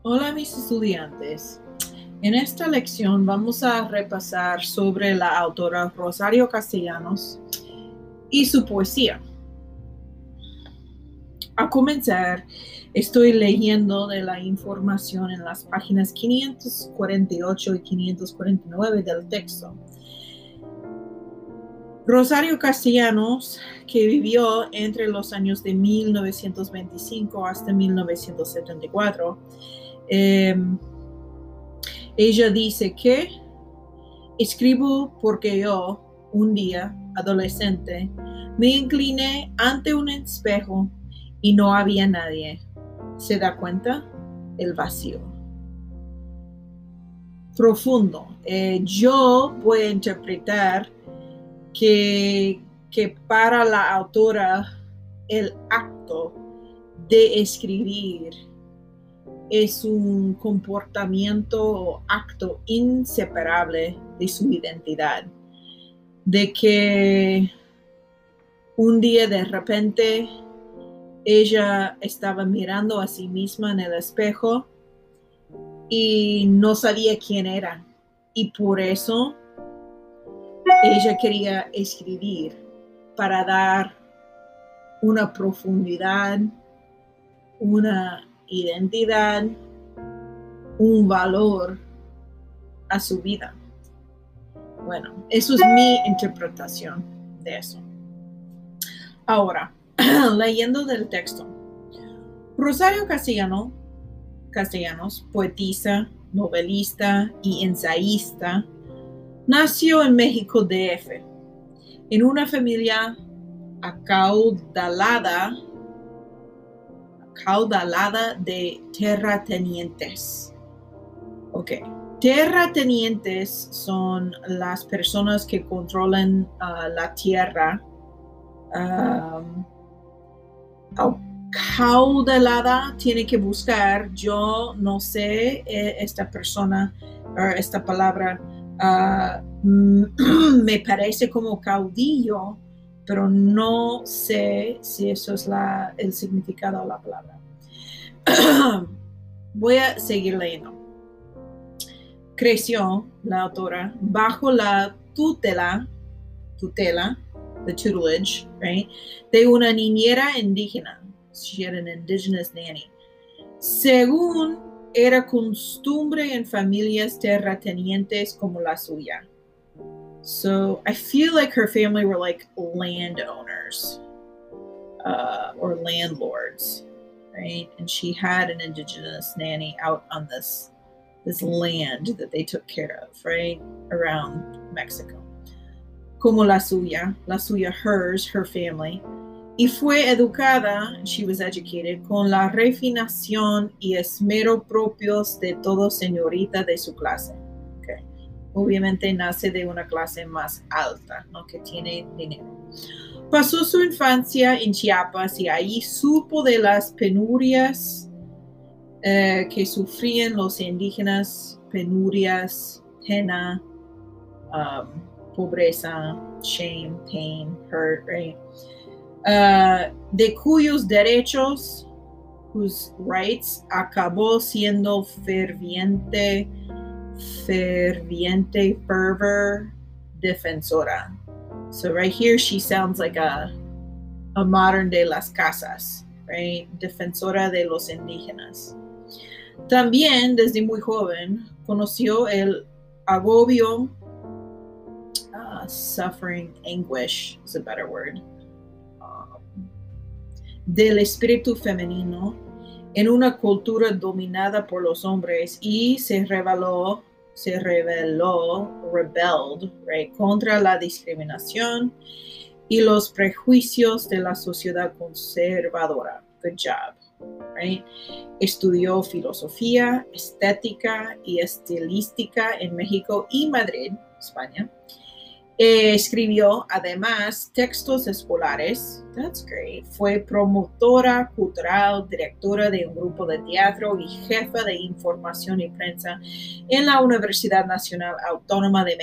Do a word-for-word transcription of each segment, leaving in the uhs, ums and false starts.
Hola mis estudiantes. En esta lección vamos a repasar sobre la autora Rosario Castellanos y su poesía. A comenzar, estoy leyendo de la información en las páginas quinientos cuarenta y ocho y quinientos cuarenta y nueve del texto. Rosario Castellanos, que vivió entre los años de mil novecientos veinticinco hasta mil novecientos setenta y cuatro, eh, ella dice que escribo porque yo, un día, adolescente, me incliné ante un espejo y no había nadie. ¿Se da cuenta? El vacío. Profundo. Eh, yo voy a interpretar que, que para la autora el acto de escribir es un comportamiento o acto inseparable de su identidad, de que un día de repente ella estaba mirando a sí misma en el espejo y no sabía quién era, y por eso ella quería escribir para dar una profundidad, una identidad, un valor a su vida. Bueno, eso es mi interpretación de eso. Ahora, leyendo del texto. Rosario Castellano, Castellanos, poetisa, novelista y ensayista, nació en México D F, en una familia acaudalada, acaudalada de terratenientes. Ok. Terratenientes son las personas que controlan uh, la tierra. Um, acaudalada tiene que buscar. Yo no sé eh, esta persona, uh, esta palabra uh, me parece como caudillo, pero no sé si eso es la, el significado de la palabra. Voy a seguir leyendo. Creció la autora bajo la tutela, tutela, the tutelage, right, de una niñera indígena. She had an indigenous nanny. Según era costumbre en familias terratenientes como la suya. So I feel like her family were like landowners uh, or landlords, right? And she had an indigenous nanny out on this this land that they took care of, right, around Mexico. Como la suya, la suya, hers, her family, y fue educada, she was educated, con la refinación y esmero propios de todo señorita de su clase. Okay. Obviamente nace de una clase más alta, ¿no? Que tiene dinero. Pasó su infancia en Chiapas y ahí supo de las penurias eh, que sufrían los indígenas, penurias, pena, um, pobreza, shame, pain, hurt, right? Uh, de cuyos derechos, whose rights, acabó siendo ferviente, ferviente, fervor, defensora. So right here she sounds like a, a modern day Las Casas, right? Defensora de los indígenas. También desde muy joven conoció el agobio, uh, suffering, anguish is a better word, um, del espíritu femenino en una cultura dominada por los hombres y se rebeló, se rebeló, rebelled, right, contra la discriminación y los prejuicios de la sociedad conservadora. Good job. Right? Estudió filosofía, estética y estilística en México y Madrid, España. Eh, escribió además textos escolares. That's great. Fue promotora cultural, directora de un grupo de teatro y jefa de información y prensa en la Universidad Nacional Autónoma de México.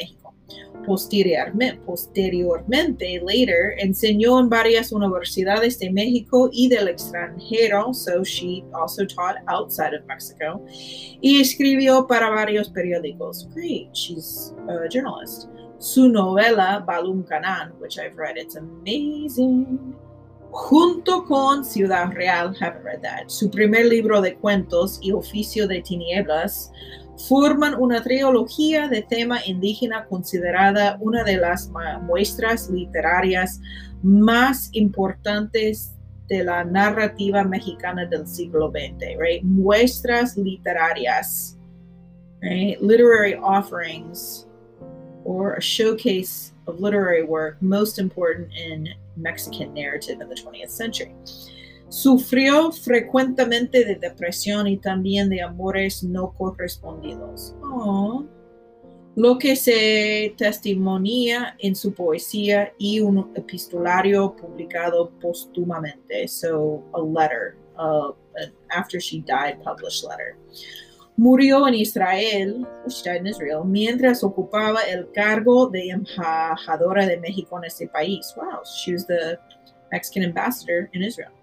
Posteriormente, posteriormente, later, enseñó en varias universidades de México y del extranjero, so she also taught outside of Mexico, y escribió para varios periódicos. Great, she's a journalist. Su novela, Balum Canan, which I've read, it's amazing. Junto con Ciudad Real, haven't read that. Su primer libro de cuentos y Oficio de Tinieblas forman una trilogía de tema indígena considerada una de las muestras literarias más importantes de la narrativa mexicana del siglo veinte, right? Muestras literarias, right? Literary offerings or a showcase of literary work most important in Mexican narrative in the twentieth century. Sufrió frecuentemente de depresión y también de amores no correspondidos. Oh. Lo que se testimonia en su poesía y un epistolario publicado póstumamente. So, a letter, uh, after she died, published letter. Murió en Israel, she died in Israel, mientras ocupaba el cargo de embajadora de México en ese país. Wow, she was the Mexican ambassador in Israel.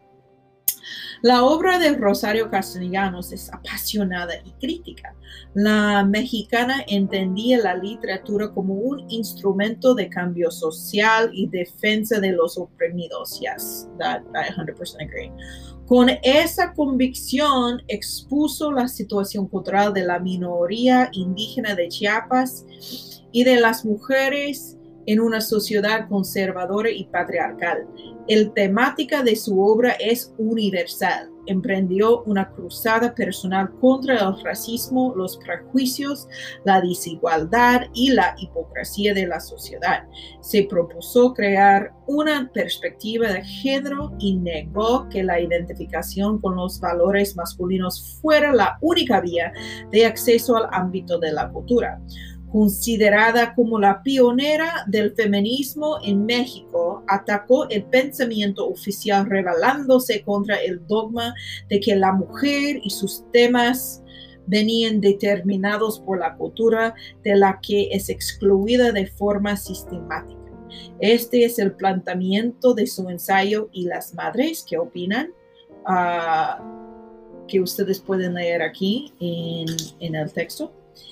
La obra de Rosario Castellanos es apasionada y crítica. La mexicana entendía la literatura como un instrumento de cambio social y defensa de los oprimidos. Yes, that I one hundred percent agree. Con esa convicción expuso la situación cultural de la minoría indígena de Chiapas y de las mujeres en una sociedad conservadora y patriarcal. La temática de su obra es universal. Emprendió una cruzada personal contra el racismo, los prejuicios, la desigualdad y la hipocresía de la sociedad. Se propuso crear una perspectiva de género y negó que la identificación con los valores masculinos fuera la única vía de acceso al ámbito de la cultura. Considerada como la pionera del feminismo en México, atacó el pensamiento oficial rebelándose contra el dogma de que la mujer y sus temas venían determinados por la cultura de la que es excluida de forma sistemática. Este es el planteamiento de su ensayo y las madres, ¿qué opinan? Uh, que ustedes pueden leer aquí en, en el texto.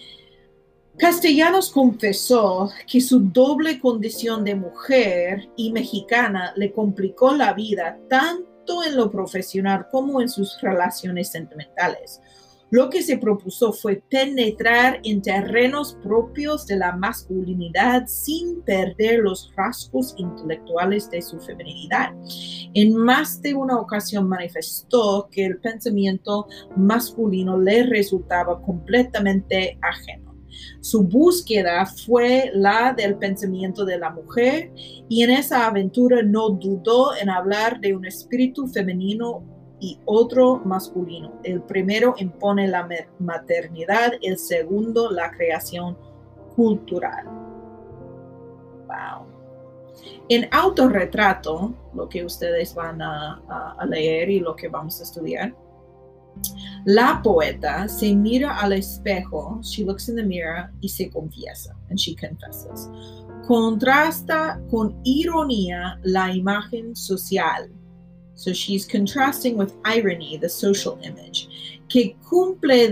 Castellanos confesó que su doble condición de mujer y mexicana le complicó la vida tanto en lo profesional como en sus relaciones sentimentales. Lo que se propuso fue penetrar en terrenos propios de la masculinidad sin perder los rasgos intelectuales de su feminidad. En más de una ocasión manifestó que el pensamiento masculino le resultaba completamente ajeno. Su búsqueda fue la del pensamiento de la mujer y en esa aventura no dudó en hablar de un espíritu femenino y otro masculino. El primero impone la maternidad, el segundo la creación cultural. Wow. En Autorretrato, lo que ustedes van a, a, a leer y lo que vamos a estudiar, la poeta se mira al espejo, she looks in the mirror y se confiesa, and she confesses. Contrasta con ironía la imagen social. So she's contrasting with irony, the social image, que cumple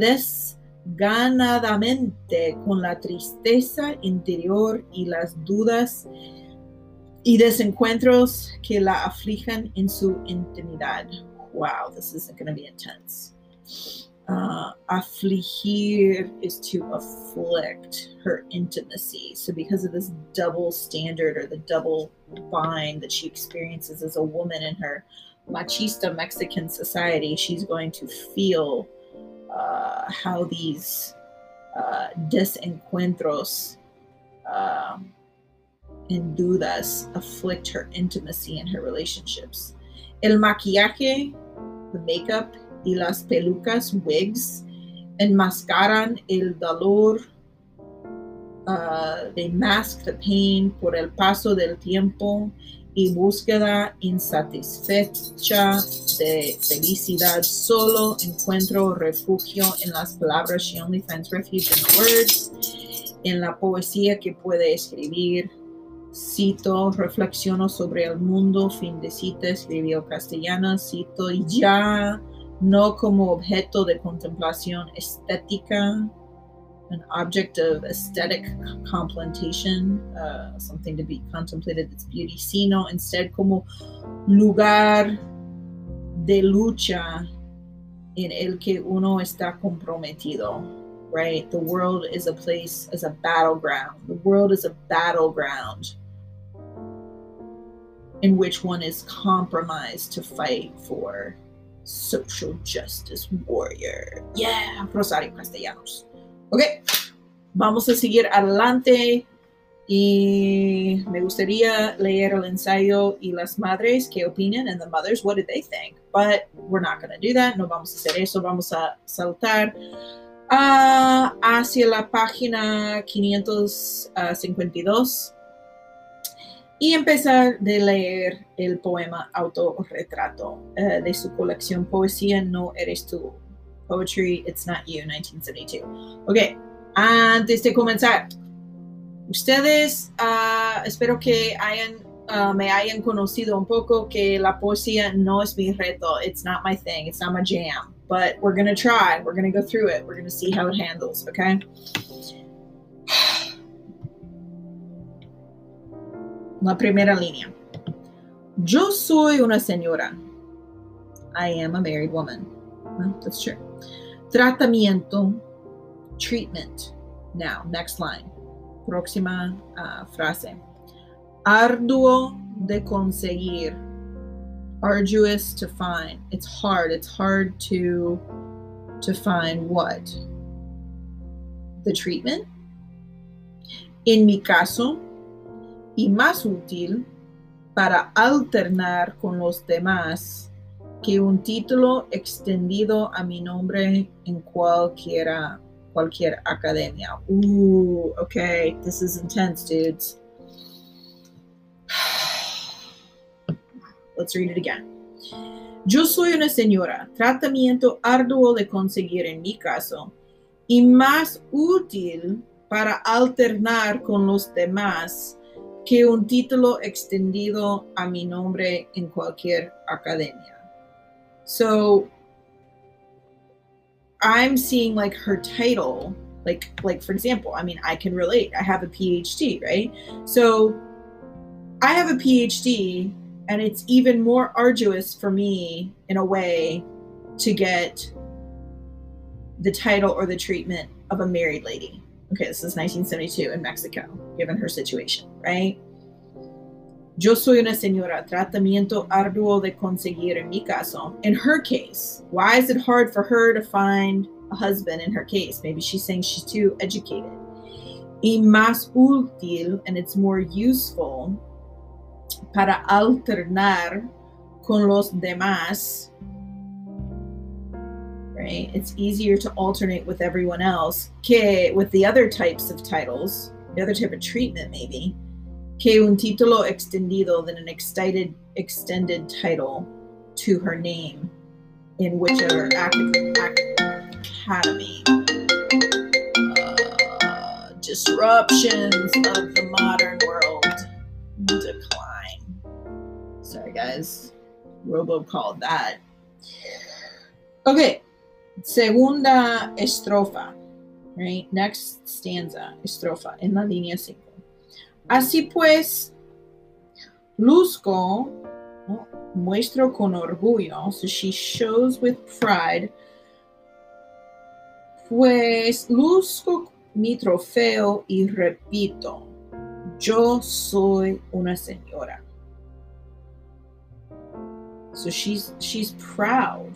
desganadamente con la tristeza interior y las dudas y desencuentros que la aflijan en su intimidad. Wow, this is going to be intense. Uh, affligir is to afflict her intimacy. So because of this double standard or the double bind that she experiences as a woman in her machista Mexican society, she's going to feel uh, how these uh, desencuentros uh, and dudas afflict her intimacy and her relationships. El maquillaje, the makeup, y las pelucas, wigs, enmascaran el dolor. Uh, they mask the pain por el paso del tiempo y búsqueda insatisfecha de felicidad. Solo encuentro refugio en las palabras. She only finds refuge in the words. en la poesía que puede escribir. Cito, reflexiono sobre el mundo, fin de cita, escribió Castellana, cito, y ya no como objeto de contemplación estética, an object of aesthetic contemplation, uh, something to be contemplated, its beauty, sino instead como lugar de lucha en el que uno está comprometido, right? The world is a place, is a battleground. The world is a battleground in which one is compromised to fight for social justice warrior. Yeah, Rosario Castellanos. Ok, vamos a seguir adelante y me gustaría leer el ensayo y las madres qué opinan, and the mothers, what did they think? But we're not going to do that, no vamos a hacer eso, vamos a saltar uh, hacia la página quinientos cincuenta y dos y empezar de leer el poema Autorretrato uh, de su colección Poesía No Eres Tú. Poetry, It's Not You, nineteen seventy-two. Ok, antes de comenzar, ustedes uh, espero que hayan, uh, me hayan conocido un poco que la poesía no es mi reto. It's not my thing. It's not my jam. But we're going to try. We're going to go through it. We're going to see how it handles, okay? La primera línea. Yo soy una señora. I am a married woman. Well, that's true. Tratamiento, treatment. Now, next line. Próxima uh, frase. Arduo de conseguir. Arduous to find. It's hard. It's hard to, to find what? The treatment. En mi caso, y más útil para alternar con los demás que un título extendido a mi nombre en cualquiera, cualquier academia. Ooh, okay, this is intense, dudes. Let's read it again. Yo soy una señora, tratamiento arduo de conseguir en mi caso, y más útil para alternar con los demás que un título extendido a mi nombre en cualquier academia. So I'm seeing like her title, like, like for example, I mean, I can relate. I have a P H D, right? So I have a P H D, and it's even more arduous for me in a way to get the title or the treatment of a married lady. Okay, this is nineteen seventy-two in Mexico, given her situation, right? Yo soy una señora, tratamiento arduo de conseguir en mi caso. In her case, why is it hard for her to find a husband in her case? Maybe she's saying she's too educated. Y más útil, and it's more useful, para alternar con los demás. Right? It's easier to alternate with everyone else que with the other types of titles, the other type of treatment maybe, que un título extendido than an extended, extended title to her name in whichever ac- ac- academy. Uh, disruptions of the modern world decline. Sorry guys, Robo called that. Okay. Segunda estrofa, right? Next stanza, estrofa, en la línea cinco. Así pues, luzco, oh, muestro con orgullo, so she shows with pride, pues luzco mi trofeo y repito, yo soy una señora. So she's, she's proud.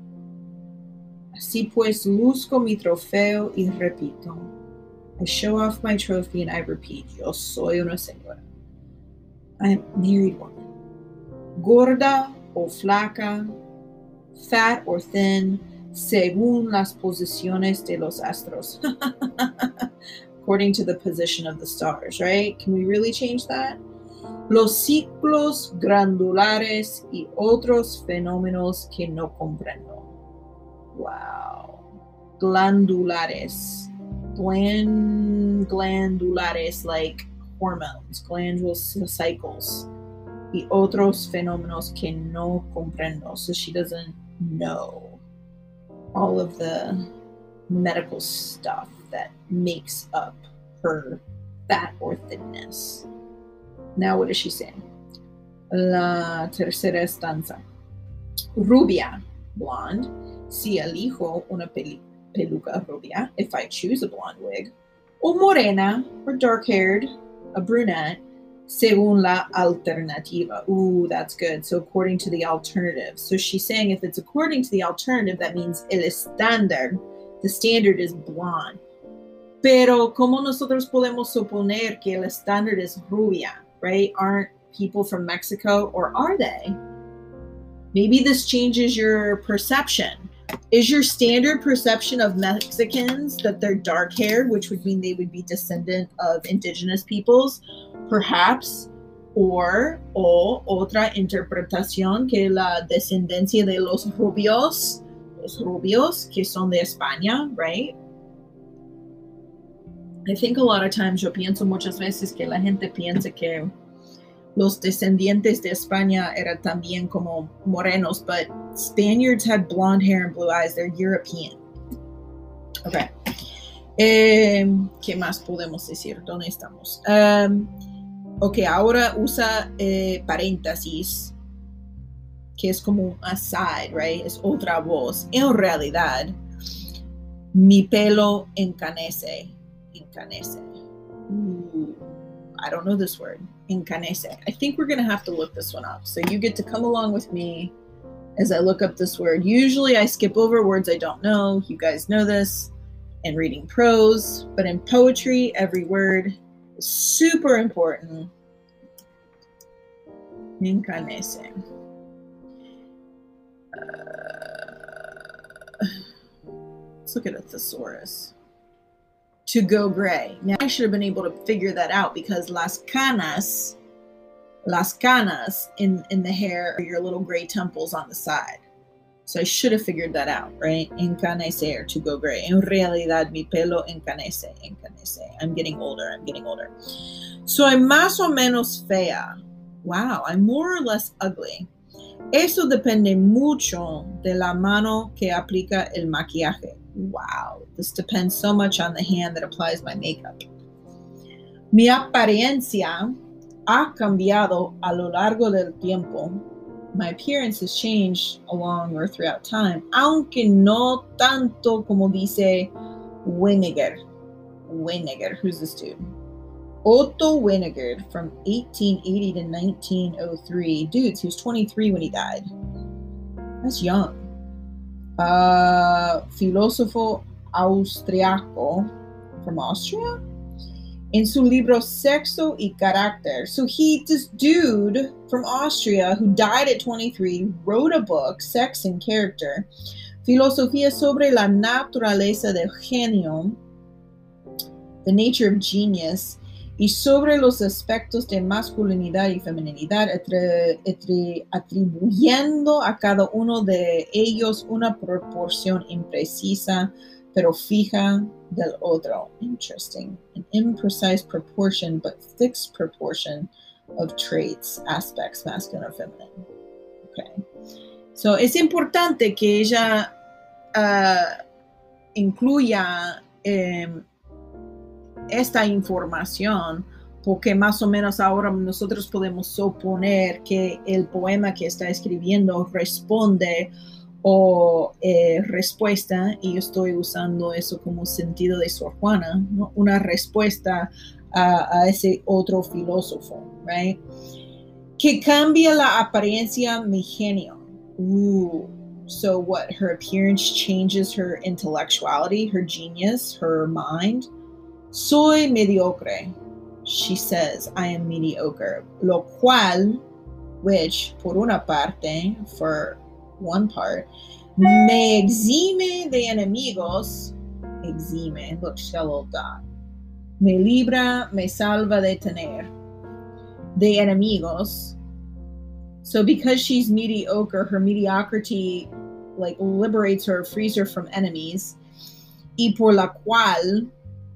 Así pues, luzco mi trofeo y repito. I show off my trophy and I repeat, yo soy una señora. I am a married woman. Gorda o flaca, fat or thin, según las posiciones de los astros. According to the position of the stars, right? Can we really change that? Los ciclos glandulares y otros fenómenos que no comprendo. Wow. Glandulares. gland, glandulares, like hormones, glandular cycles, y otros fenómenos que no comprendo. So she doesn't know all of the medical stuff that makes up her fat or thinness. Now, what is she saying? La tercera estanza. Rubia, blonde. Si elijo una peluca rubia, if I choose a blonde wig. O morena, or dark-haired, a brunette, según la alternativa. Ooh, that's good. So according to the alternative. So she's saying if it's according to the alternative, that means el estándar, the standard is blonde. Pero ¿cómo nosotros podemos suponer que el estándar is rubia, right? Aren't people from Mexico, or are they? Maybe this changes your perception. Is your standard perception of Mexicans that they're dark-haired, which would mean they would be descendant of indigenous peoples? Perhaps. Or, o otra interpretación, que la descendencia de los rubios, los rubios que son de España, right? I think a lot of times yo pienso muchas veces que la gente piensa que los descendientes de España eran también como morenos, but Spaniards had blonde hair and blue eyes. They're European. Okay. Eh, ¿Qué más podemos decir? ¿Dónde estamos? Um, ok, ahora usa eh, paréntesis, que es como un aside, right? Es otra voz. En realidad, mi pelo encanece. Encanece. Ooh, I don't know this word. Encanece. I think we're going to have to look this one up. So you get to come along with me as I look up this word. Usually I skip over words I don't know. You guys know this. And reading prose. But in poetry, every word is super important. Encanece. Uh, let's look at a thesaurus. To go gray. Now, I should have been able to figure that out because las canas, las canas in, in the hair are your little gray temples on the side. So I should have figured that out, right? Encanecer, to go gray. En realidad, mi pelo encanece, encanece. I'm getting older, I'm getting older. Soy más o menos fea. Wow, I'm more or less ugly. Eso depende mucho de la mano que aplica el maquillaje. Wow, this depends so much on the hand that applies my makeup. Mi apariencia ha cambiado a lo largo del tiempo. My appearance has changed along or throughout time, aunque no tanto como dice Weniger. Weniger, who's this dude? Otto Weniger from eighteen eighty to nineteen oh three. Dudes, he was twenty-three when he died. That's young. Uh, filósofo austriaco from Austria. In su libro Sexo y Carácter. So he, this dude from Austria who died at twenty-three, wrote a book, Sex and Character, Filosofía sobre la naturaleza del genio, the nature of genius, y sobre los aspectos de masculinidad y feminidad, atribuyendo a cada uno de ellos una proporción imprecisa, pero fija del otro. Interesting. An imprecise proportion, but fixed proportion of traits, aspects, masculine or feminine. Okay. So, es importante que ella uh, incluya um, esta información, porque más o menos ahora nosotros podemos suponer que el poema que está escribiendo responde o eh, respuesta, y yo estoy usando eso como sentido de Sor Juana, ¿no? Una respuesta a, a ese otro filósofo, right? Que cambia la apariencia mi genio. Ooh. So what, her appearance changes her intellectuality, her genius, her mind. Soy mediocre. She says, I am mediocre. Lo cual, which, por una parte, for one part, me exime de enemigos. Exime, look, shallow dot. Me libra, me salva de tener. De enemigos. So because she's mediocre, her mediocrity, like, liberates her, frees her from enemies. Y por la cual,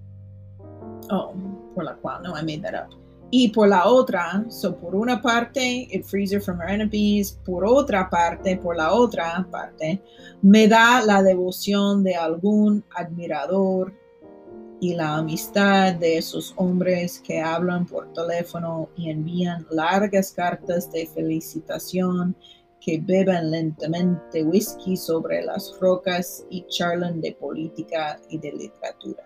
Oh, por la cual, no, I made that up. Y por la otra, so por una parte, it frees her from her enemies. Por otra parte, por la otra parte, me da la devoción de algún admirador y la amistad de esos hombres que hablan por teléfono y envían largas cartas de felicitación, que beben lentamente whisky sobre las rocas y charlan de política y de literatura.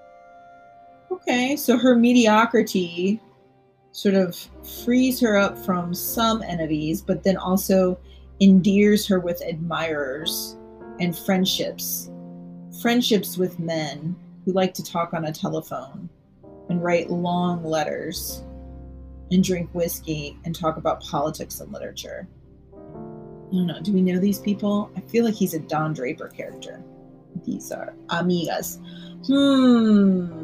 Okay, so her mediocrity sort of frees her up from some enemies, but then also endears her with admirers and friendships. Friendships with men who like to talk on a telephone and write long letters and drink whiskey and talk about politics and literature. I don't know. Do we know these people? I feel like he's a Don Draper character. These are amigas. Hmm.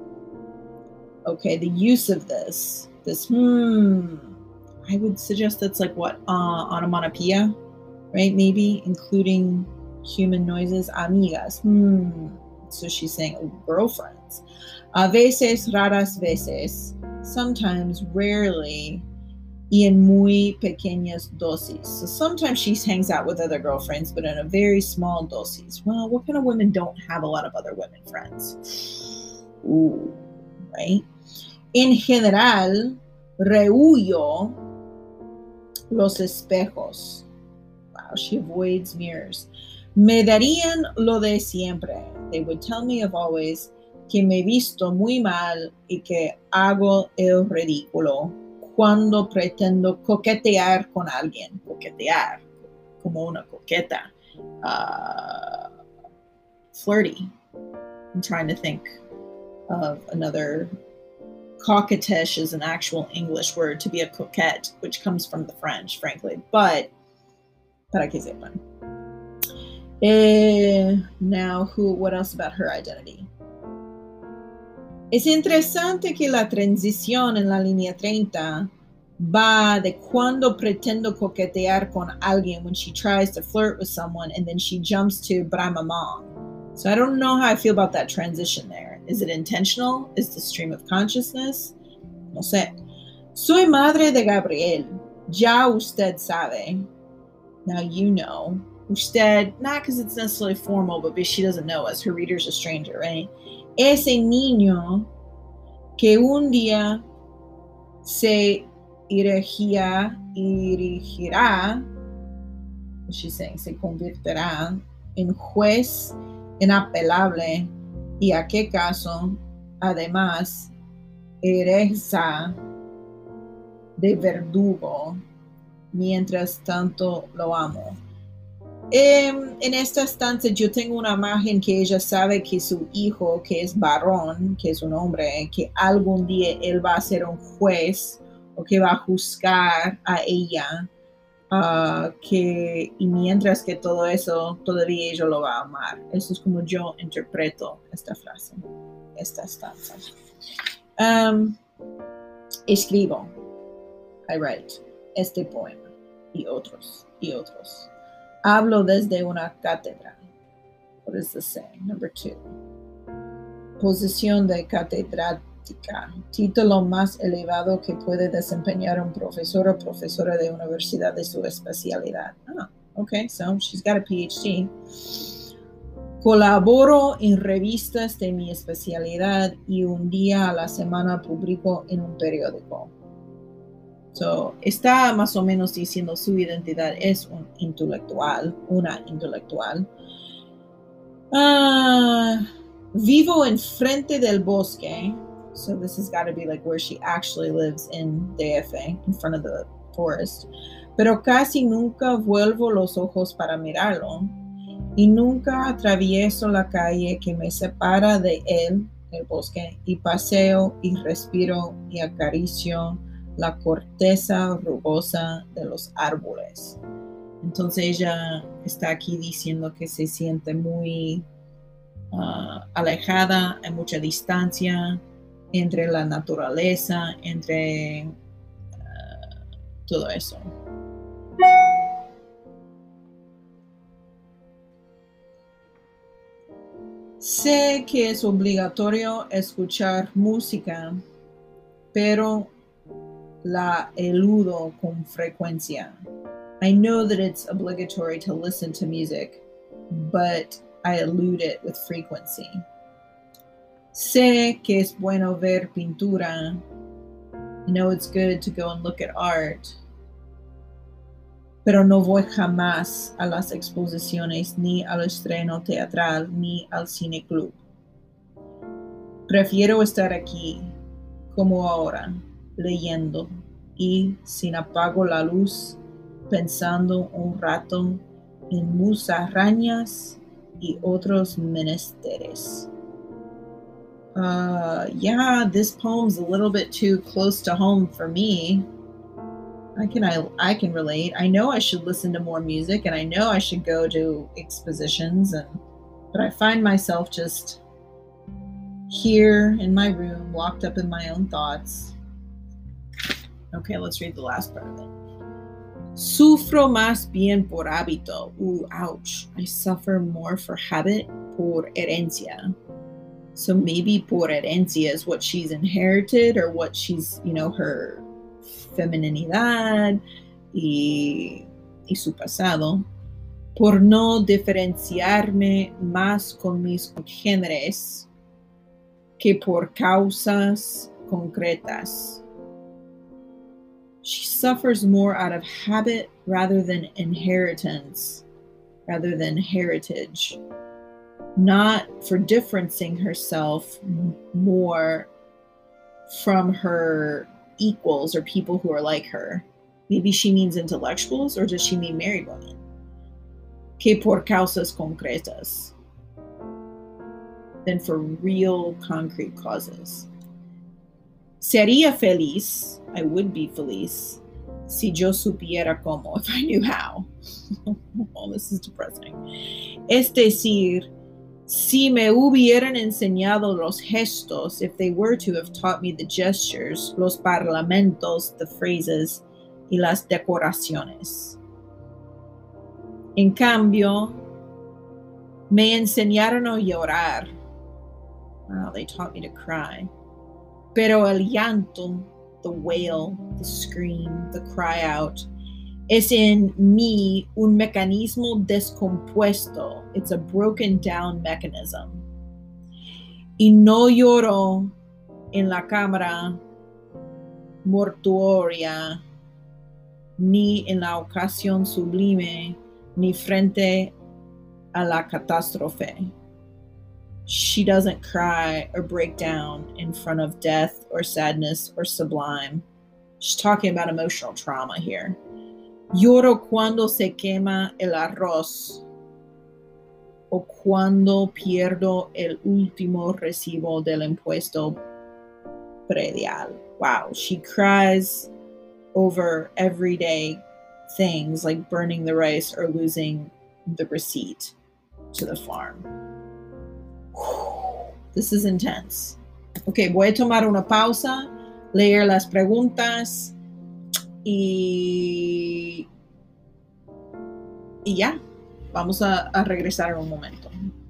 Okay, the use of this. This hmm. I would suggest that's like what? Uh, onomatopoeia, right? Maybe including human noises. Amigas. Hmm. So she's saying oh, girlfriends. A veces, raras veces. Sometimes, rarely. Y en muy pequeñas dosis. So sometimes she hangs out with other girlfriends, but in a very small dosis. Well, what kind of women don't have a lot of other women friends? Ooh, right? En general, rehuyo los espejos. Wow, she avoids mirrors. Me darían lo de siempre. They would tell me of always que me visto muy mal y que hago el ridículo cuando pretendo coquetear con alguien. Coquetear, como una coqueta. Uh, flirty. I'm trying to think of another. Coquettish is an actual English word to be a coquette, which comes from the French, frankly. But, para que sepan. Eh, now, who? What else about her identity? Es interesante que la transición en la línea treinta va de cuando pretendo coquetear con alguien when she tries to flirt with someone and then she jumps to Bramamong. So I don't know how I feel about that transition there. Is it intentional? Is the stream of consciousness? No sé. Soy madre de Gabriel. Ya usted sabe. Now you know. Usted, not because it's necessarily formal, but because she doesn't know us. Her reader's a stranger, right? Ese niño que un día se erigirá, erigirá, she's saying, se convertirá en juez inapelable y a qué caso, además, ejerza de verdugo, mientras tanto lo amo. Eh, en esta estancia yo tengo una imagen que ella sabe que su hijo, que es varón, que es un hombre, que algún día él va a ser un juez o que va a juzgar a ella, uh, que, y mientras que todo eso, todavía ella lo va a amar. Eso es como yo interpreto esta frase, esta estancia. Um, escribo, I write, este poema y otros, y otros. Hablo desde una cátedra. What is this saying? Number two. Posición de catedrática. Título más elevado que puede desempeñar un profesor o profesora de universidad de su especialidad. Ah, okay, so she's got a P H D. Colaboro en revistas de mi especialidad y un día a la semana publico en un periódico. So, está más o menos diciendo su identidad es un intelectual, una intelectual. Uh, vivo enfrente del bosque. So this has got to be like where she actually lives in D F, in front of the forest. Pero casi nunca vuelvo los ojos para mirarlo. Y nunca atravieso la calle que me separa de él, el bosque, y paseo y respiro y acaricio la corteza rugosa de los árboles. Entonces ella está aquí diciendo que se siente muy uh, alejada, hay mucha distancia entre la naturaleza, entre uh, todo eso. Sé que es obligatorio escuchar música, pero la eludo con frecuencia. I know that it's obligatory to listen to music, but I elude it with frequency. Sé que es bueno ver pintura. I know it's good to go and look at art, pero no voy jamás a las exposiciones, ni al estreno teatral, ni al cine club. Prefiero estar aquí, como ahora, leyendo y sin apago la luz, pensando un rato en musarañas y otros menesteres. Uh, yeah, this poem's a little bit too close to home for me. I can I, I can relate. I know I should listen to more music, and I know I should go to expositions, and but I find myself just here in my room, locked up in my own thoughts. Okay, let's read the last part of it. Sufro más bien por hábito. Ooh, ouch. I suffer more for habit, por herencia. So maybe por herencia is what she's inherited, or what she's, you know, her femininidad y, y su pasado. Por no diferenciarme más con mis congéneres que por causas concretas. She suffers more out of habit rather than inheritance, rather than heritage. Not for differencing herself more from her equals or people who are like her. Maybe she means intellectuals, or does she mean married women? Que por causas concretas. Than for real concrete causes. Sería feliz, I would be feliz, si yo supiera cómo, if I knew how. Oh, this is depressing. Es decir, si me hubieran enseñado los gestos, if they were to have taught me the gestures, los parlamentos, the phrases, y las decoraciones. En cambio, me enseñaron a llorar. Wow, they taught me to cry. Pero el llanto, the wail, the scream, the cry out, es en mí un mecanismo descompuesto. It's a broken down mechanism. Y no lloro en la cámara mortuoria, ni en la ocasión sublime, ni frente a la catástrofe. She doesn't cry or break down in front of death or sadness or sublime. She's talking about emotional trauma here. Lloro cuando se quema el arroz o cuando pierdo el último recibo del impuesto predial. Wow, she cries over everyday things like burning the rice or losing the receipt to the farm. This is intense. Ok, voy a tomar una pausa, leer las preguntas y, y ya, vamos a, a regresar en un momento.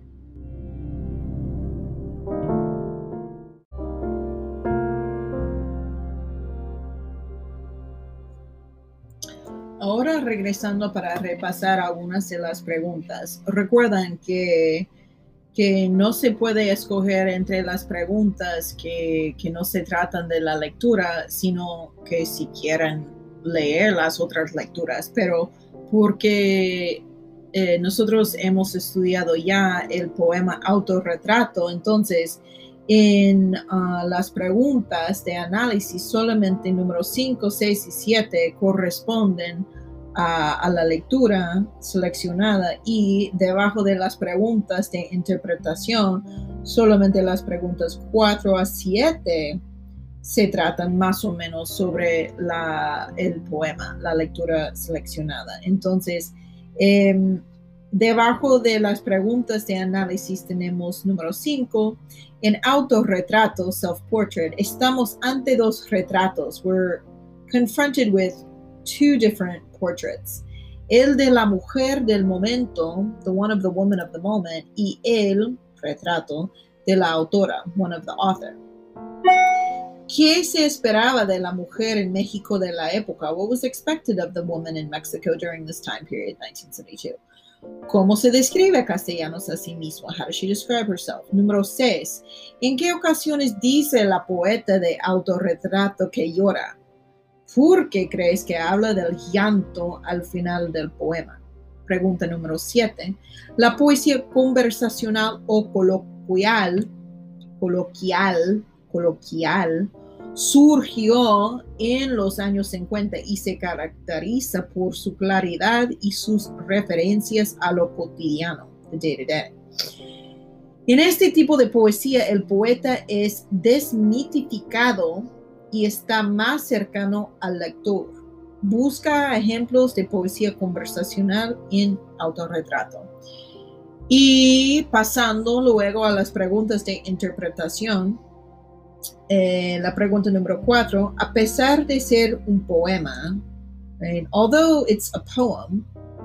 Ahora regresando para repasar algunas de las preguntas. Recuerden que que no se puede escoger entre las preguntas que, que no se tratan de la lectura, sino que si quieren leer las otras lecturas, pero porque eh, nosotros hemos estudiado ya el poema Autorretrato, entonces en uh, las preguntas de análisis solamente números cinco, seis y siete corresponden A, a la lectura seleccionada, y debajo de las preguntas de interpretación solamente las preguntas cuatro a siete se tratan más o menos sobre la, el poema, la lectura seleccionada. Entonces eh, debajo de las preguntas de análisis tenemos número cinco, en autorretrato, self-portrait, estamos ante dos retratos. We're confronted with two different portraits. El de la mujer del momento, the one of the woman of the moment, y el, autorretrato de la autora, one of the author. ¿Qué se esperaba de la mujer en México de la época? What was expected of the woman in Mexico during this time period, nineteen seventy-two? ¿Cómo se describe a Castellanos a sí misma? How does she describe herself? Número seis. ¿En qué ocasiones dice la poeta de autorretrato que llora? ¿Por qué crees que habla del llanto al final del poema? Pregunta número siete. La poesía conversacional o coloquial, coloquial, coloquial, surgió en los años cincuenta y se caracteriza por su claridad y sus referencias a lo cotidiano, the day to day. En este tipo de poesía, el poeta es desmitificado y está más cercano al lector. Busca ejemplos de poesía conversacional en autorretrato. Y pasando luego a las preguntas de interpretación, eh, la pregunta número cuatro, a pesar de ser un poema, right, although it's a poem,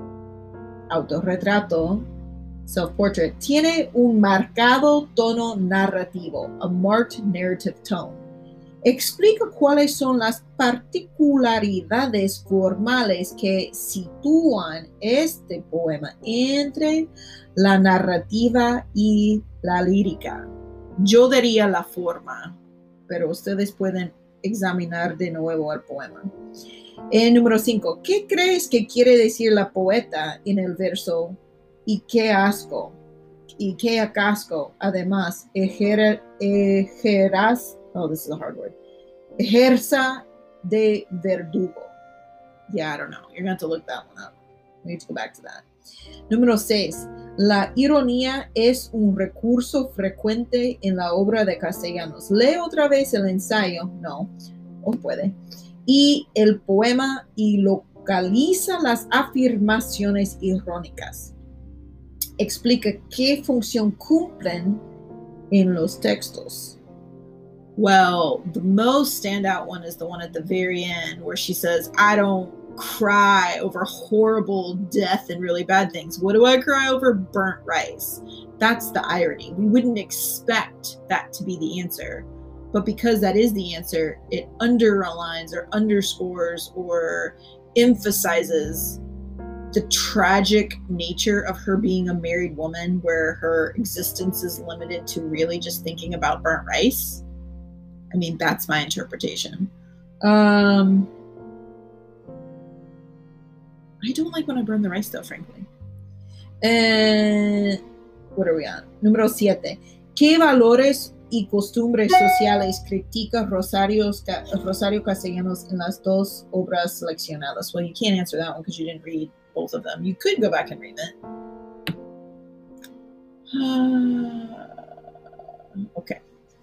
autorretrato, self-portrait, tiene un marcado tono narrativo, a marked narrative tone. Explica cuáles son las particularidades formales que sitúan este poema entre la narrativa y la lírica. Yo diría la forma, pero ustedes pueden examinar de nuevo el poema. Eh, número cinco. ¿Qué crees que quiere decir la poeta en el verso y qué asco? Y qué acasco, además, ejer, ejeras, oh, this is a hard word, ejerza de verdugo. Yeah, I don't know. You're going to have to look that one up. We need to go back to that. Número seis. La ironía es un recurso frecuente en la obra de Castellanos. Lee otra vez el ensayo, no, o puede, y el poema y localiza las afirmaciones irónicas. Explica qué función cumplen en los textos. Well, the most standout one is the one at the very end where she says, I don't cry over horrible death and really bad things. What do I cry over? Burnt rice. That's the irony. We wouldn't expect that to be the answer. But because that is the answer, it underlines or underscores or emphasizes the tragic nature of her being a married woman where her existence is limited to really just thinking about burnt rice. I mean, that's my interpretation. Um, I don't like when I burn the rice, though, frankly. And what are we on? Número siete. ¿Qué valores y costumbres sociales critica Rosario, Rosario Castellanos en las dos obras seleccionadas? Well, you can't answer that one because you didn't read both of them. You could go back and read it. Uh, okay.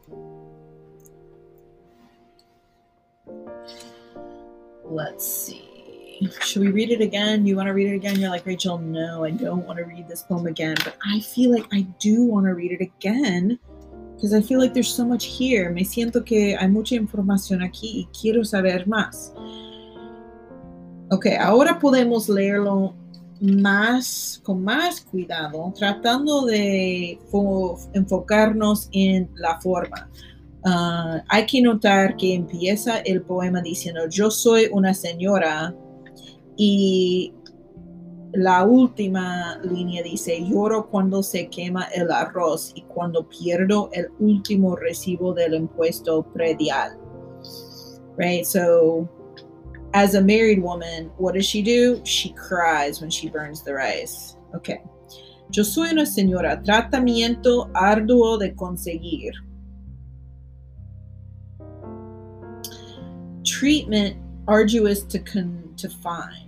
Let's see. Should we read it again? You want to read it again? You're like, Rachel, no, I don't want to read this poem again. But I feel like I do want to read it again because I feel like there's so much here. Me siento que hay mucha información aquí y quiero saber más. Ok, ahora podemos leerlo más, con más cuidado, tratando de enfocarnos en la forma. Uh, hay que notar que empieza el poema diciendo, yo soy una señora, y la última línea dice, lloro cuando se quema el arroz y cuando pierdo el último recibo del impuesto predial. Right? So, as a married woman, what does she do? She cries when she burns the rice. Okay. Yo soy una señora, tratamiento arduo de conseguir. Treatment arduous to con- to find.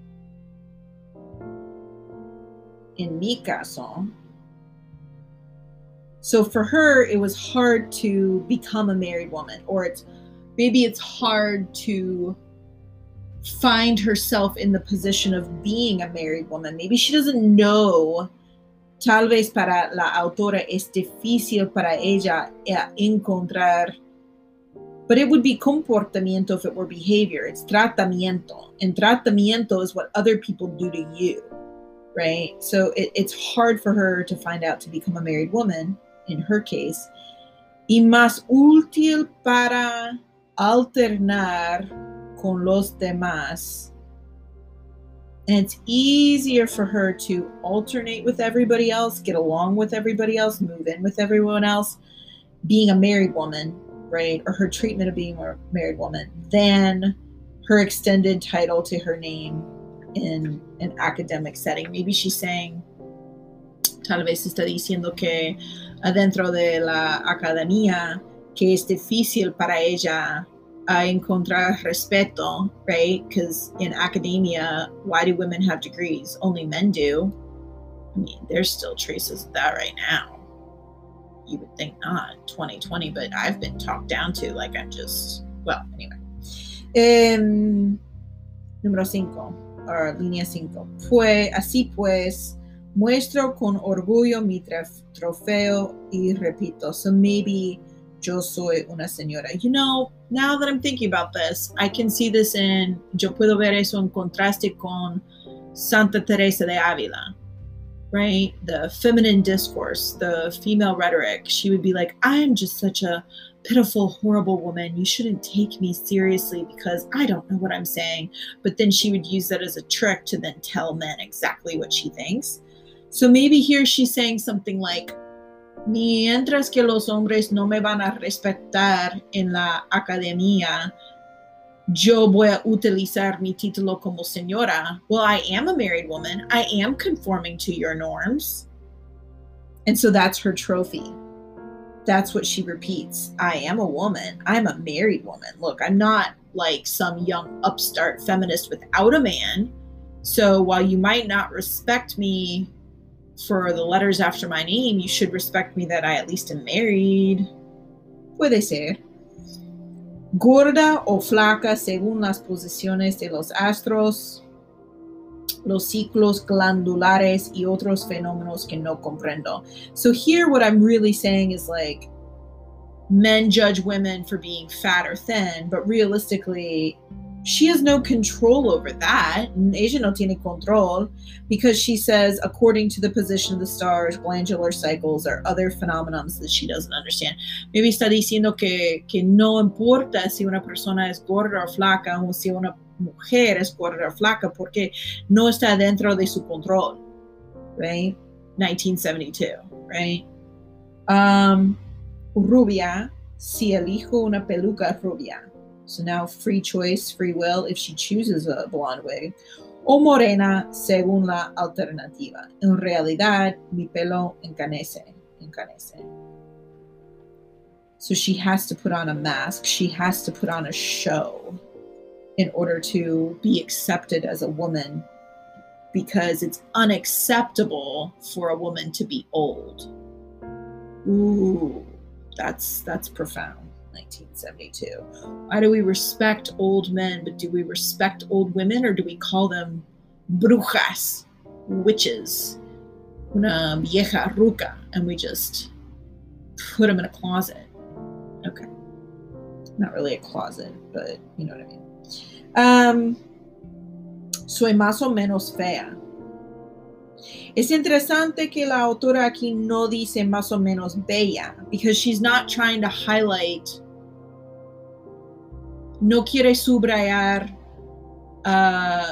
In mi caso. So for her, it was hard to become a married woman, or it's maybe it's hard to find herself in the position of being a married woman. Maybe she doesn't know. Tal vez para la autora es difícil para ella encontrar. But it would be comportamiento if it were behavior. It's tratamiento. And tratamiento is what other people do to you. right? So it, it's hard for her to find out to become a married woman, in her case. Y más útil para alternar con los demás. And it's easier for her to alternate with everybody else, get along with everybody else, move in with everyone else, being a married woman, right? Or her treatment of being a married woman, than her extended title to her name in an academic setting. Maybe she's saying, tal vez está diciendo que adentro de la academia, que es difícil para ella uh, encontrar respeto, right? Because in academia, why do women have degrees? Only men do. I mean, there's still traces of that right now. You would think not, twenty twenty, but I've been talked down to like I'm just, well, anyway. Um, número cinco, or línea cinco. Pues, así pues, muestro con orgullo mi trofeo y repito. So maybe yo soy una señora. You know, now that I'm thinking about this, I can see this in, yo puedo ver eso en contraste con Santa Teresa de Ávila, right? The feminine discourse, the female rhetoric. She would be like, I'm just such a pitiful, horrible woman. You shouldn't take me seriously because I don't know what I'm saying. But then she would use that as a trick to then tell men exactly what she thinks. So maybe here she's saying something like, mientras que los hombres no me van a respetar en la academia, yo voy a utilizar mi título como señora. Well, I am a married woman. I am conforming to your norms. And so that's her trophy. That's what she repeats. I am a woman. I'm a married woman. Look, I'm not like some young upstart feminist without a man. So while you might not respect me for the letters after my name, you should respect me that I at least am married. Puede ser. Gorda o flaca según las posiciones de los astros, los ciclos glandulares y otros fenómenos que no comprendo. So here what I'm really saying is like, men judge women for being fat or thin, but realistically, she has no control over that. Ella no tiene control, because she says, according to the position of the stars, glandular cycles, or other phenomena that she doesn't understand. Maybe está diciendo que, que no importa si una persona es gorda o flaca, o si una mujer es gorda o flaca, porque no está dentro de su control, right? nineteen seventy-two, right? Um, rubia, si elijo una peluca rubia. So now free choice, free will, if she chooses a blonde wig. O morena, según la alternativa. En realidad, mi pelo encanece, encanece. So she has to put on a mask. She has to put on a show in order to be accepted as a woman, because it's unacceptable for a woman to be old. Ooh, that's that's profound. nineteen seventy-two. Why do we respect old men, but do we respect old women, or do we call them brujas, witches, una vieja ruca, and we just put them in a closet? Okay. Not really a closet, but you know what I mean. Um, soy más o menos fea. Es interesante que la autora aquí no dice más o menos bella, because she's not trying to highlight, no quiere subrayar uh,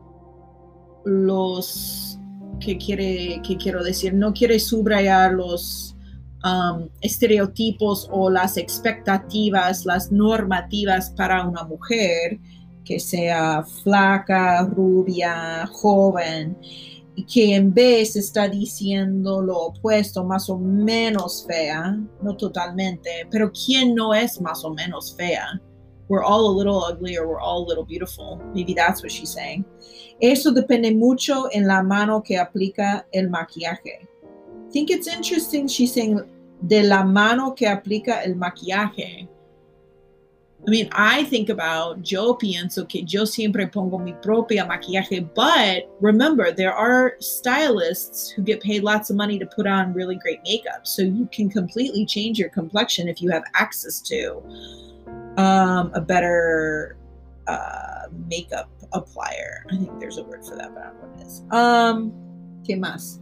los, que quiere, que quiero decir, no quiere subrayar los um, estereotipos o las expectativas, las normativas para una mujer que sea flaca, rubia, joven, que en vez está diciendo lo opuesto, más o menos fea, no totalmente, pero ¿quién no es más o menos fea? We're all a little ugly, or we're all a little beautiful. Maybe that's what she's saying. Eso depende mucho en la mano que aplica el maquillaje. I think it's interesting she's saying de la mano que aplica el maquillaje. I mean, I think about, yo pienso que yo siempre pongo mi propia maquillaje, but remember, there are stylists who get paid lots of money to put on really great makeup. So you can completely change your complexion if you have access to um, a better uh, makeup applier. I think there's a word for that, but I don't know what it is. Um, ¿Qué más?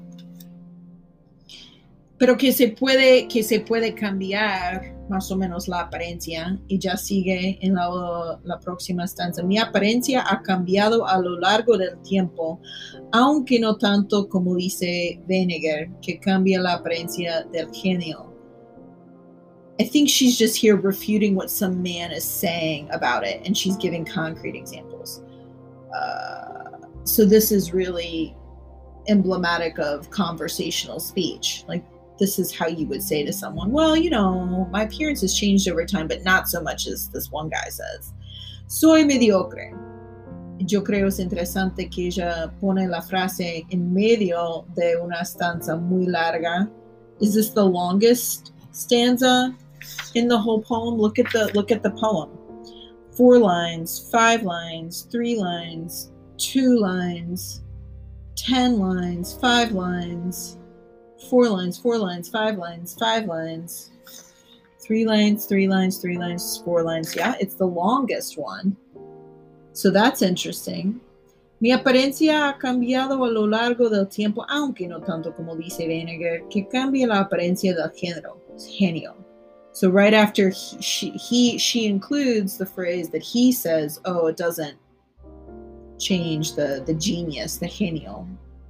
Pero que se puede, que se puede cambiar más o menos la apariencia, y ya sigue en la, la próxima stanza. Mi apariencia ha cambiado a lo largo del tiempo, aunque no tanto como dice Venegar, que cambia la apariencia del genio. I think she's just here refuting what some man is saying about it, and she's giving concrete examples. Uh, so this is really emblematic of conversational speech. Like, this is how you would say to someone, well, you know, my appearance has changed over time, but not so much as this one guy says. Soy mediocre. Yo creo es interesante que ella pone la frase en medio de una stanza muy larga. Is this the longest stanza in the whole poem? Look at the look at the poem. Four lines, five lines, three lines, two lines, ten lines, five lines, four lines, four lines, five lines, five lines, three lines, three lines, three lines, four lines. Yeah, it's the longest one. So that's interesting. Mi apariencia ha cambiado a lo largo del tiempo, aunque no tanto como dice Venegar, que cambia la apariencia del género, genio. So right after he, she, he, she includes the phrase that he says, oh, it doesn't change the, the genius, the genio,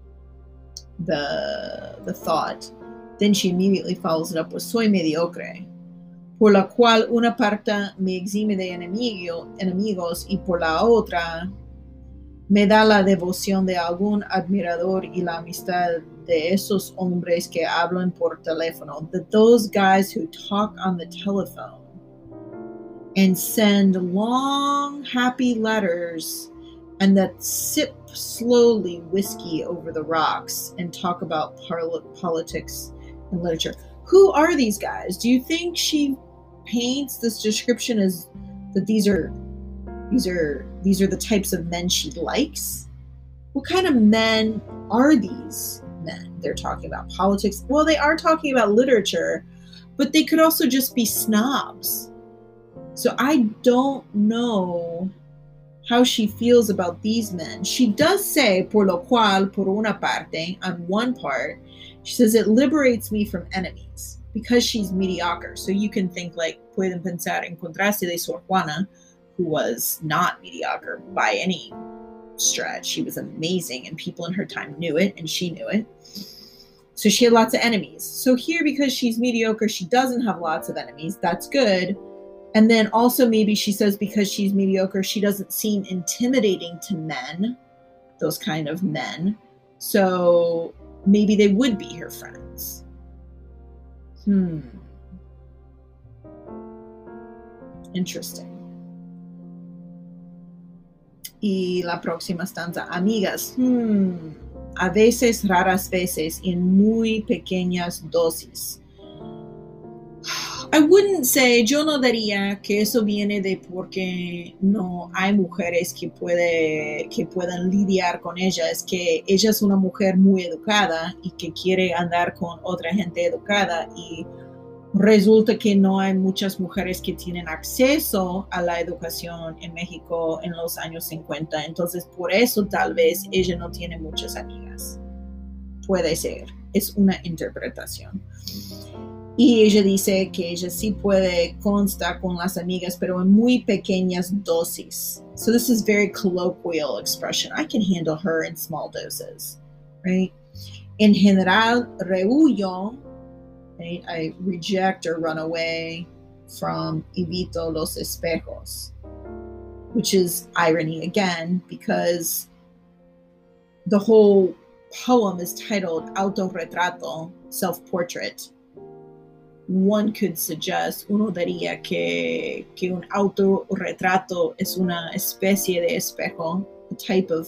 the, the thought. Then she immediately follows it up with soy mediocre, por la cual una parte me exime de enemigo, enemigos y por la otra me da la devoción de algún admirador y la amistad de esos hombres que hablan por teléfono. That those guys who talk on the telephone and send long, happy letters and that sip slowly whiskey over the rocks and talk about par- politics and literature. Who are these guys? Do you think she paints this description as that these are these are these are the types of men she likes? What kind of men are these men they're talking about? Politics? Well, they are talking about literature, but they could also just be snobs. So I don't know how she feels about these men. She does say, por lo cual, por una parte, on one part, she says it liberates me from enemies because she's mediocre. So you can think like, pueden pensar encontrarse de Sor Juana, who was not mediocre by any stretch. She was amazing and people in her time knew it and she knew it. So she had lots of enemies. So here, because she's mediocre, she doesn't have lots of enemies. That's good. And then also maybe she says because she's mediocre, she doesn't seem intimidating to men, those kind of men. So maybe they would be her friends. Hmm. Interesting. Y la próxima stanza, amigas. Hmm. A veces, raras veces, en muy pequeñas dosis. I wouldn't say, yo no diría que eso viene de porque no hay mujeres que, puede, que puedan lidiar con ella. Es que ella es una mujer muy educada y que quiere andar con otra gente educada y resulta que no hay muchas mujeres que tienen acceso a la educación en México en los años cincuenta. Entonces, por eso tal vez ella no tiene muchas amigas. Puede ser. Es una interpretación. Y ella dice que ella sí puede constar con las amigas, pero en muy pequeñas dosis. So this is very colloquial expression. I can handle her in small doses, right? En general, rehuyo, right? I reject or run away from evito los espejos, which is irony again, because the whole poem is titled Autorretrato, Self-Portrait. One could suggest, uno diría que, que un autorretrato es una especie de espejo, a type of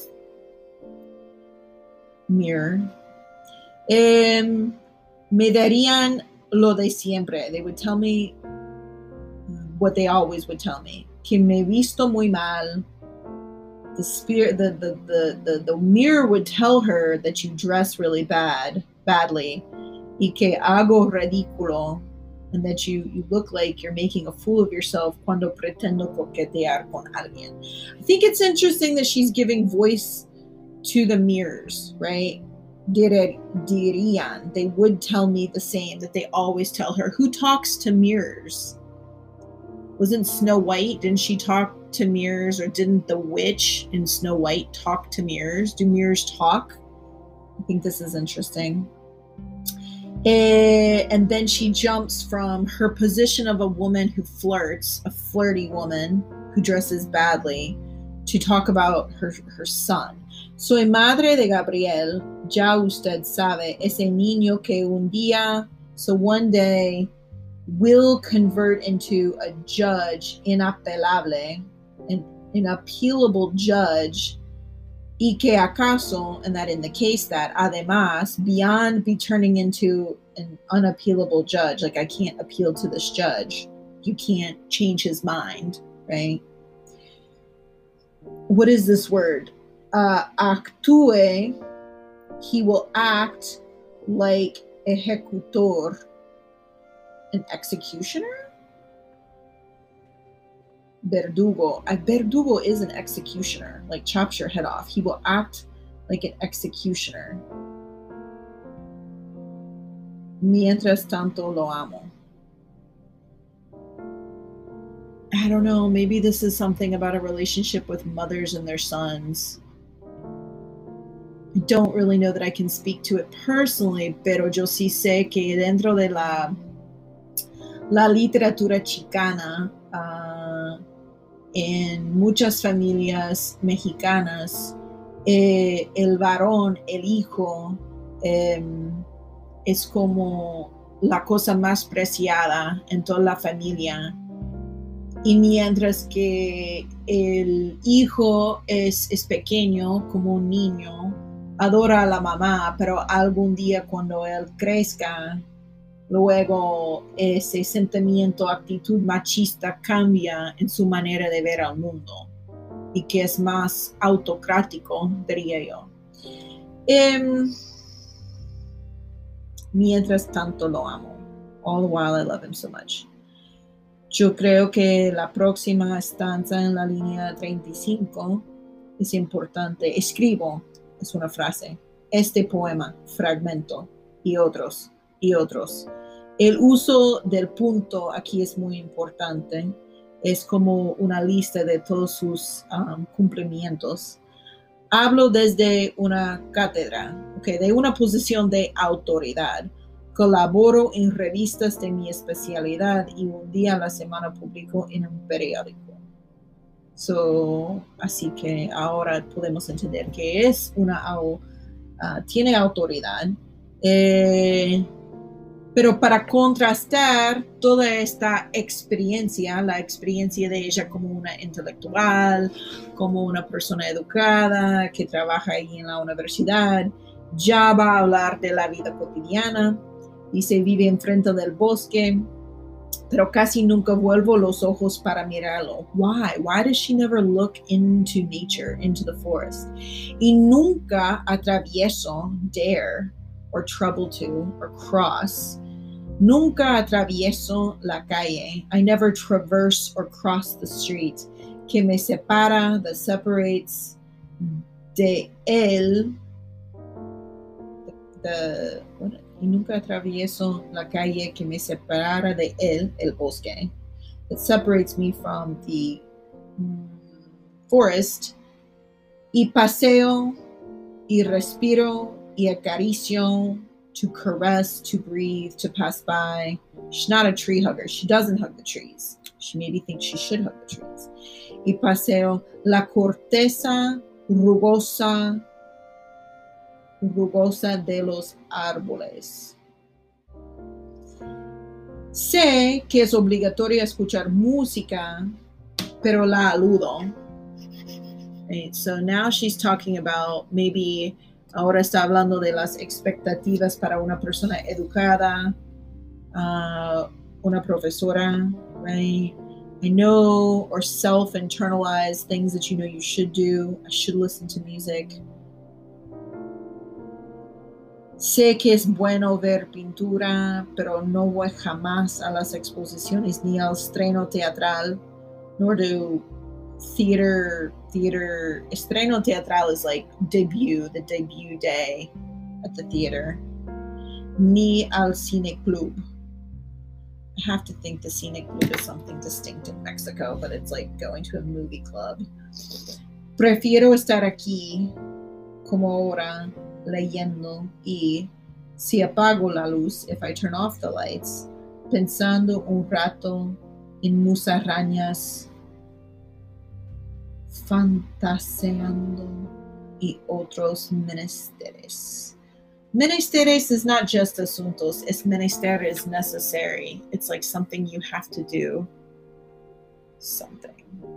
mirror. Um, me darían lo de siempre. They would tell me what they always would tell me. Que me visto muy mal. The spirit, the, the, the, the, the mirror would tell her that you dress really bad, badly. Y que hago ridículo, and that you, you look like you're making a fool of yourself cuando pretendo coquetear con alguien. I think it's interesting that she's giving voice to the mirrors, right? dire, dirían, they would tell me the same that they always tell her. Who talks to mirrors? Wasn't Snow White, didn't she talk to mirrors, or didn't the witch in Snow White talk to mirrors? Do mirrors talk? I think this is interesting. Uh, and then she jumps from her position of a woman who flirts, a flirty woman who dresses badly, to talk about her, her son. Soy madre de Gabriel, ya usted sabe, ese niño que un día, so one day, will convert into a judge inapelable, an inappealable judge, y que acaso, and that in the case that, además, beyond be turning into an unappealable judge, like I can't appeal to this judge, you can't change his mind, right? What is this word? Uh, actúe, he will act like ejecutor, an executioner? Verdugo. A verdugo is an executioner, like chops your head off. He will act like an executioner. Mientras tanto lo amo. I don't know, maybe this is something about a relationship with mothers and their sons. I don't really know that I can speak to it personally, pero yo sí sé que dentro de la, la literatura chicana, uh, en muchas familias mexicanas, eh, el varón, el hijo, eh, es como la cosa más preciada en toda la familia. Y mientras que el hijo es, es pequeño, como un niño, adora a la mamá, pero algún día cuando él crezca, luego ese sentimiento, actitud machista cambia en su manera de ver al mundo y que es más autocrático, diría yo. Um, mientras tanto lo amo. All the while I love him so much. Yo creo que la próxima estanza en la línea treinta y cinco es importante. Escribo, es una frase, este poema, fragmento, y otros, y otros. El uso del punto aquí es muy importante. Es como una lista de todos sus um, cumplimientos. Hablo desde una cátedra, okay, de una posición de autoridad. Colaboro en revistas de mi especialidad y un día a la semana publico en un periódico. So, así que ahora podemos entender que es una, uh, tiene autoridad. Eh, pero para contrastar toda esta experiencia, la experiencia de ella como una intelectual, como una persona educada que trabaja ahí en la universidad, ya va a hablar de la vida cotidiana. Dice, vive enfrente del bosque, pero casi nunca vuelvo los ojos para mirarlo. Why? Why does she never look into nature, into the forest? Y nunca atravieso, dare, or trouble to, or cross. Nunca atravieso la calle. I never traverse or cross the street. Que me separa, that separates de él, the, the what, y nunca atravieso la calle que me separara de él, el bosque, that separates me from the mm, forest, y paseo, y respiro, y acaricio, to caress, to breathe, to pass by. She's not a tree hugger. She doesn't hug the trees. She maybe thinks she should hug the trees. Y paseo, la corteza rugosa, rugosa de los árboles. Sé que es obligatorio escuchar música, pero la aludo. Right, so now she's talking about maybe, ahora está hablando de las expectativas para una persona educada, uh, una profesora, right? I know, or self-internalize things that you know you should do. I should listen to music. Sé que es bueno ver pintura, pero no voy jamás a las exposiciones ni al estreno teatral, nor do theater, theater, estreno teatral is like debut, the debut day at the theater, ni al cine club. I have to think the cine club is something distinct in Mexico, but it's like going to a movie club. Prefiero estar aquí como ahora leyendo y si apago la luz, if I turn off the lights, pensando un rato en musarañas, fantaseando y otros menesteres. Menesteres is not just asuntos, es menester is necessary. It's like something you have to do. Something.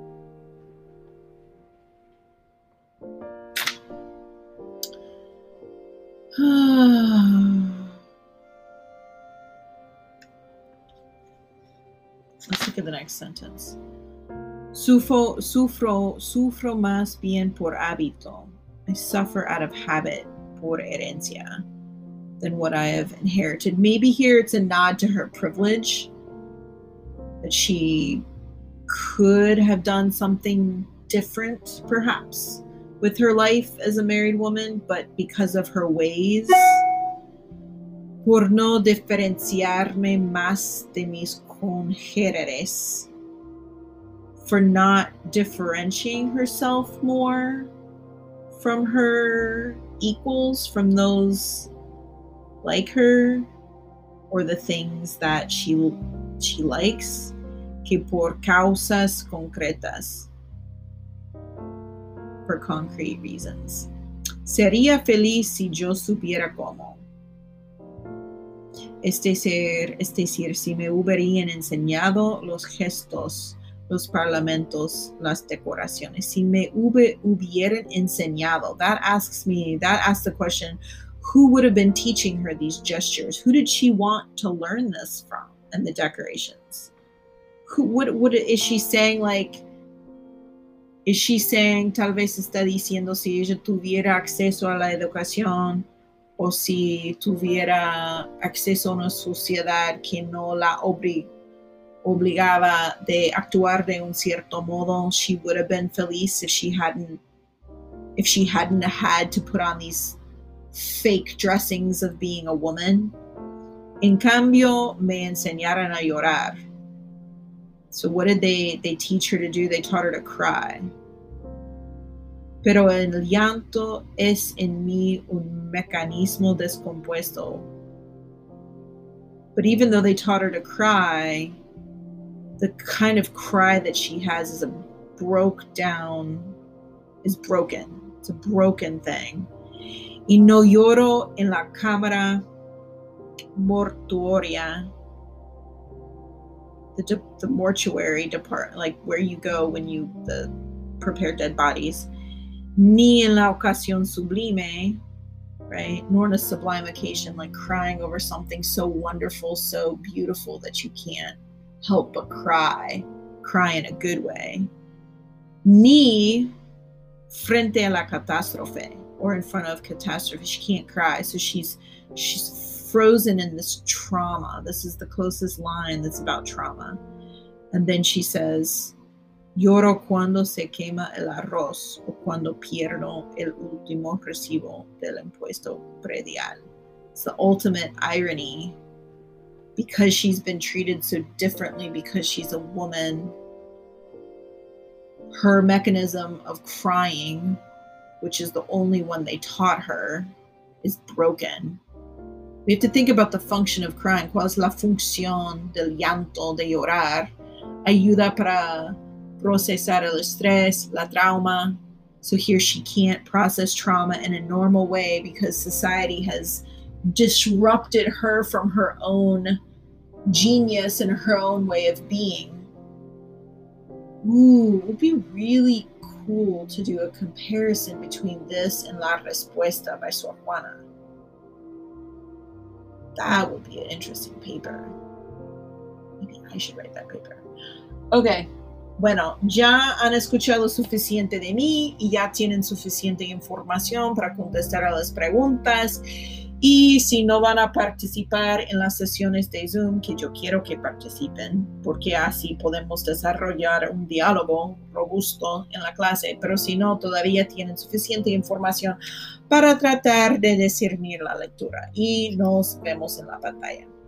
Let's look at the next sentence. Sufro, sufro, sufro más bien por hábito. I suffer out of habit por herencia than what I have inherited. Maybe here it's a nod to her privilege, that she could have done something different, perhaps, with her life as a married woman, but because of her ways, por no diferenciarme más de mis congéneres, for not differentiating herself more from her equals, from those like her, or the things that she she likes, que por causas concretas, for concrete reasons. Sería feliz si yo supiera cómo. Este ser, es decir, si me hubieran enseñado los gestos, los parlamentos, las decoraciones. Si me hubieran enseñado, that asks me, that asks the question, who would have been teaching her these gestures? Who did she want to learn this from? And the decorations. Who, what, what is she saying? Like, is she saying, tal vez está diciendo, si ella tuviera acceso a la educación, o si tuviera acceso a una sociedad que no la obli- obligaba de actuar de un cierto modo, she would have been feliz if she hadn't, if she hadn't had to put on these fake dressings of being a woman. En cambio, me enseñaron a llorar. So what did they, they teach her to do? They taught her to cry. Pero el llanto es en mí un mecanismo descompuesto. But even though they taught her to cry, the kind of cry that she has is a broke down, is broken. It's a broken thing. Y no lloro en la cámara mortuoria, the, de- the mortuary depart, like where you go when you the prepare dead bodies, ni en la ocasión sublime, right? Nor in a sublime occasion, like crying over something so wonderful, so beautiful that you can't help but cry, cry in a good way. Ni frente a la catástrofe, or in front of catastrophe. She can't cry, so she's she's frozen in this trauma. This is the closest line that's about trauma. And then she says, lloro cuando se quema el arroz o cuando pierdo el último recibo del impuesto predial. It's the ultimate irony, because she's been treated so differently because she's a woman. Her mechanism of crying, which is the only one they taught her, is broken. We have to think about the function of crying. ¿Cuál es la función del llanto, de llorar? Ayuda para procesar el estrés, la trauma. So here she can't process trauma in a normal way because society has disrupted her from her own genius and her own way of being. Ooh, it would be really cool to do a comparison between this and La Respuesta by Sor Juana. That would be an interesting paper. Maybe I should write that paper. Okay, bueno, ya han escuchado suficiente de mí y ya tienen suficiente información para contestar a las preguntas. Y si no van a participar en las sesiones de Zoom, que yo quiero que participen, porque así podemos desarrollar un diálogo robusto en la clase, pero si no, todavía tienen suficiente información para tratar de discernir la lectura. Y nos vemos en la pantalla.